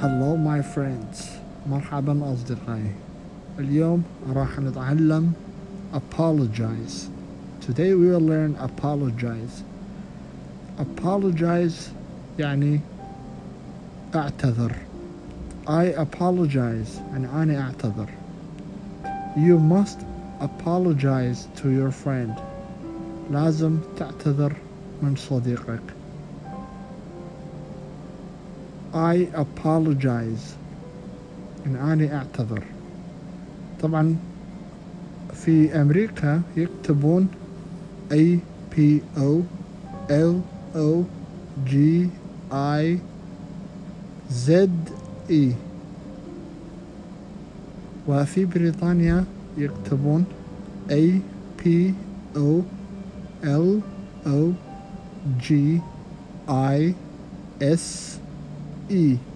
Hello my friends. مرحبا أصدقائي. اليوم راح نتعلم apologize. Today we will learn apologize. Apologize يعني أعتذر. I apologize يعني أنا أعتذر. You must apologize to your friend. لازم تعتذر من صديقك. I apologize يعني أنا أعتذر. طبعا في أمريكا يكتبون APOLOGIZE وفي بريطانيا يكتبون APOLOGISE